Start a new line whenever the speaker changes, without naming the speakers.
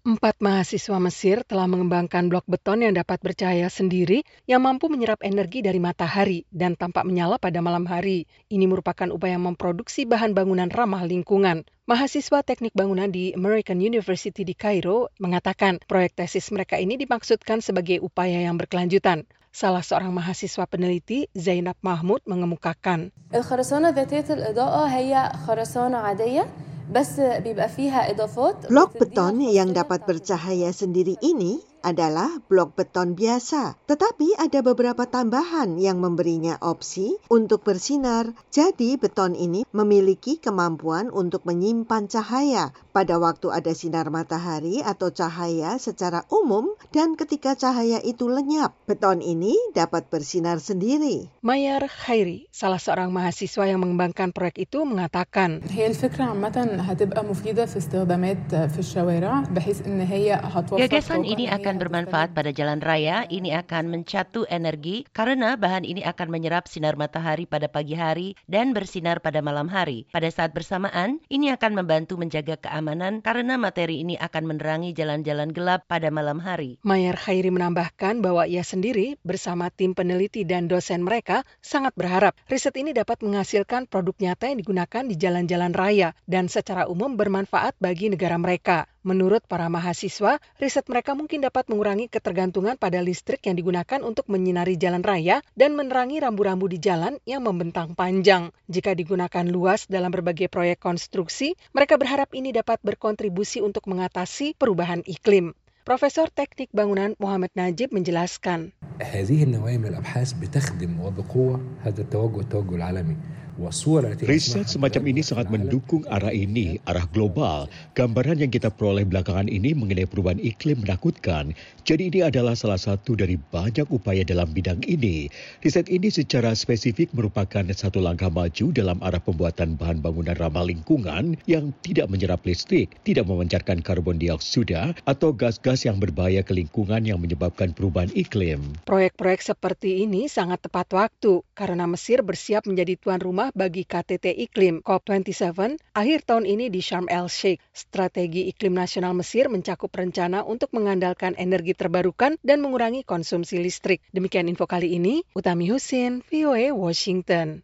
4 mahasiswa Mesir telah mengembangkan blok beton yang dapat bercahaya sendiri yang mampu menyerap energi dari matahari dan tampak menyala pada malam hari. Ini merupakan upaya memproduksi bahan bangunan ramah lingkungan. Mahasiswa teknik bangunan di American University di Kairo mengatakan proyek tesis mereka ini dimaksudkan sebagai upaya yang berkelanjutan. Salah seorang mahasiswa peneliti, Zainab Mahmud, mengemukakan.
الخرسانة ذاتية الإضاءة هي خرسانة عادية بس بيبقى فيها إضافات
Blok
بتديها
beton yang
الخاصية
dapat
بتاعت
bercahaya sendiri ini adalah blok beton biasa, tetapi ada beberapa tambahan yang memberinya opsi untuk bersinar. Jadi beton ini memiliki kemampuan untuk menyimpan cahaya pada waktu ada sinar matahari atau cahaya secara umum, dan ketika cahaya itu lenyap, beton ini dapat bersinar sendiri.
Mayar Khairi, salah seorang mahasiswa yang mengembangkan proyek itu, mengatakan,
هي الفكرة عامة هتبقى مفيدة في استخدامات في الشوارع بحيث إن هي هتوفر
Gagasan
طاقة
ini
إن هي
akan bermanfaat
هتستغل.
pada jalan raya. Ini akan mencatu energi karena bahan ini akan menyerap sinar matahari pada pagi hari dan bersinar pada malam hari. Pada saat bersamaan, ini akan membantu menjaga keamanan karena materi ini akan menerangi jalan-jalan gelap pada malam hari.
Mayar Khairi menambahkan bahwa ia sendiri bersama tim peneliti dan dosen mereka sangat berharap riset ini dapat menghasilkan produk nyata yang digunakan di jalan-jalan raya dan secara umum bermanfaat bagi negara mereka. Menurut para mahasiswa, riset mereka mungkin dapat mengurangi ketergantungan pada listrik yang digunakan untuk menyinari jalan raya dan menerangi rambu-rambu di jalan yang membentang panjang. Jika digunakan luas dalam berbagai proyek konstruksi, mereka berharap ini dapat berkontribusi untuk mengatasi perubahan iklim. Profesor Teknik Bangunan Muhammad Najib menjelaskan.
هذه النوعية من الأبحاث بتخدم وبقوة هذا التوجه العالمي.
Riset semacam ini sangat mendukung arah ini, arah global. Gambaran yang kita peroleh belakangan ini mengenai perubahan iklim menakutkan. Jadi ini adalah salah satu dari banyak upaya dalam bidang ini. Riset ini secara spesifik merupakan satu langkah maju dalam arah pembuatan bahan bangunan ramah lingkungan yang tidak menyerap listrik, tidak memancarkan karbon dioksida, atau gas-gas yang berbahaya ke lingkungan yang menyebabkan perubahan iklim.
Proyek-proyek seperti ini sangat tepat waktu karena Mesir bersiap menjadi tuan rumah bagi KTT Iklim COP27 akhir tahun ini di Sharm el-Sheikh. Strategi Iklim Nasional Mesir mencakup rencana untuk mengandalkan energi terbarukan dan mengurangi konsumsi listrik. Demikian info kali ini, Utami Husin, VOA Washington.